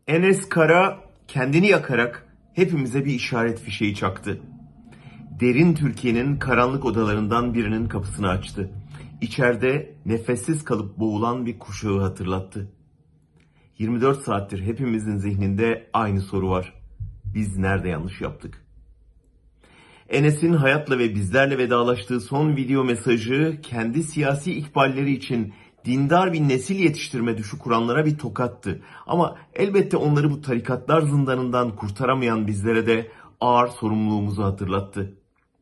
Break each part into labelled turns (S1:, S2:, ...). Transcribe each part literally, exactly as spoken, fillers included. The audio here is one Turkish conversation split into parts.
S1: Enes Kara kendini yakarak hepimize bir işaret fişeği çaktı. Derin Türkiye'nin karanlık odalarından birinin kapısını açtı. İçeride nefessiz kalıp boğulan bir kuşağı hatırlattı. yirmi dört saattir hepimizin zihninde aynı soru var. Biz nerede yanlış yaptık? Enes'in hayatla ve bizlerle vedalaştığı son video mesajı kendi siyasi ikballeri için dindar bir nesil yetiştirme düşü kuranlara bir tokattı. Ama elbette onları bu tarikatlar zindanından kurtaramayan bizlere de ağır sorumluluğumuzu hatırlattı.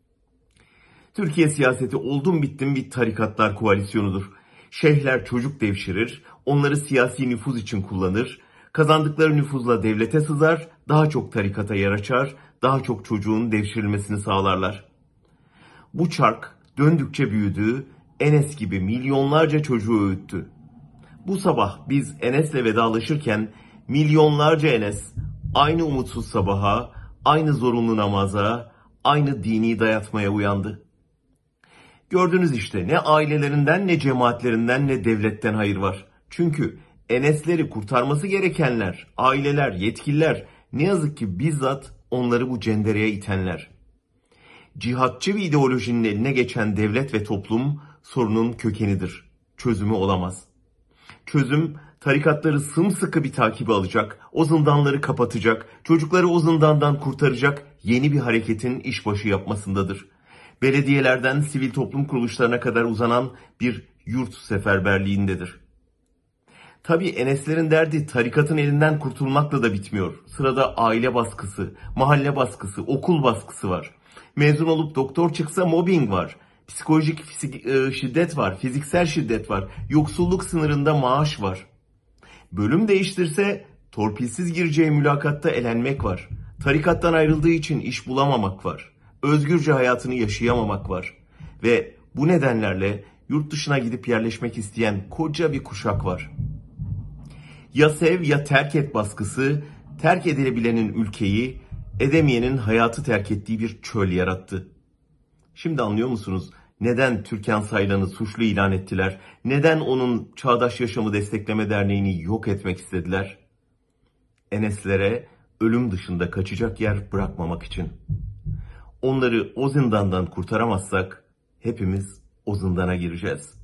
S1: Türkiye siyaseti oldum bittim bir tarikatlar koalisyonudur. Şeyhler çocuk devşirir, onları siyasi nüfuz için kullanır, kazandıkları nüfuzla devlete sızar, daha çok tarikata yer açar, daha çok çocuğun devşirilmesini sağlarlar. Bu çark döndükçe büyüdü, Enes gibi milyonlarca çocuğu öğüttü. Bu sabah biz Enes'le vedalaşırken milyonlarca Enes aynı umutsuz sabaha, aynı zorunlu namaza, aynı dini dayatmaya uyandı. Gördünüz işte, ne ailelerinden, ne cemaatlerinden, ne devletten hayır var. Çünkü Enes'leri kurtarması gerekenler, aileler, yetkililer, ne yazık ki bizzat onları bu cendereye itenler. Cihatçı bir ideolojinin eline geçen devlet ve toplum sorunun kökenidir. Çözümü olamaz. Çözüm tarikatları sımsıkı bir takibe alacak, o zindanları kapatacak, çocukları o zindandan kurtaracak yeni bir hareketin işbaşı yapmasındadır. Belediyelerden sivil toplum kuruluşlarına kadar uzanan bir yurt seferberliğindedir. Tabii Enes'lerin derdi tarikatın elinden kurtulmakla da bitmiyor. Sırada aile baskısı, mahalle baskısı, okul baskısı var. Mezun olup doktor çıksa mobbing var. Psikolojik şiddet var, fiziksel şiddet var. Yoksulluk sınırında maaş var. Bölüm değiştirse torpilsiz gireceği mülakatta elenmek var. Tarikattan ayrıldığı için iş bulamamak var. Özgürce hayatını yaşayamamak var. Ve bu nedenlerle yurt dışına gidip yerleşmek isteyen koca bir kuşak var. Ya sev ya terk et baskısı, terk edilebilenin ülkeyi, edemeyenin hayatı terk ettiği bir çöl yarattı. Şimdi anlıyor musunuz neden Türkan Saylan'ı suçlu ilan ettiler? Neden onun Çağdaş Yaşamı Destekleme Derneği'ni yok etmek istediler? Enes'lere ölüm dışında kaçacak yer bırakmamak için. Onları o zindandan kurtaramazsak hepimiz o zindana gireceğiz.